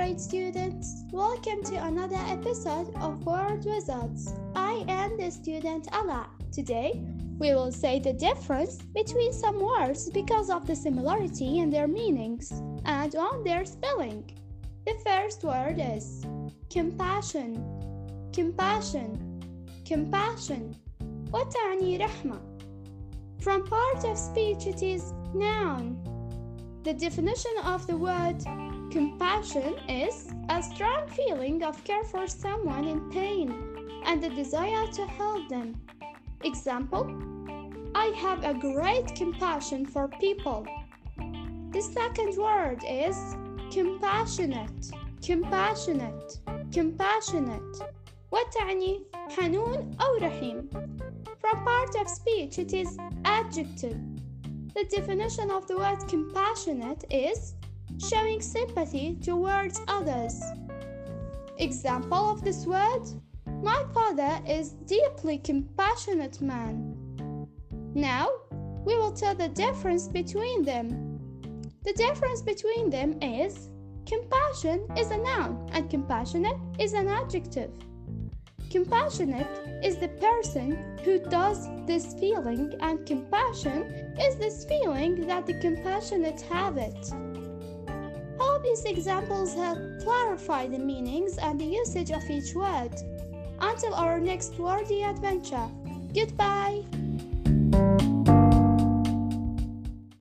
great students. Welcome to another episode of Word Wizards. I am the student Ala. Today, we will say the difference between some words because of the similarity in their meanings and on their spelling. The first word is compassion. Compassion. Compassion. وتعني رحمة. From part of speech it is noun. The definition of the word compassion is a strong feeling of care for someone in pain and the desire to help them. Example, I have a great compassion for people. The second word is compassionate. Compassionate. Compassionate. وتعني حنون أو رحيم. From part of speech it is adjective. The definition of the word compassionate is showing sympathy towards others. Example of this word, my father is deeply compassionate man. Now, we will tell the difference between them. The difference between them is compassion is a noun and compassionate is an adjective. Compassionate is the person who does this feeling, and compassion is this feeling that the compassionate have it. Hope these examples help clarify the meanings and the usage of each word. Until our next wordy adventure, goodbye!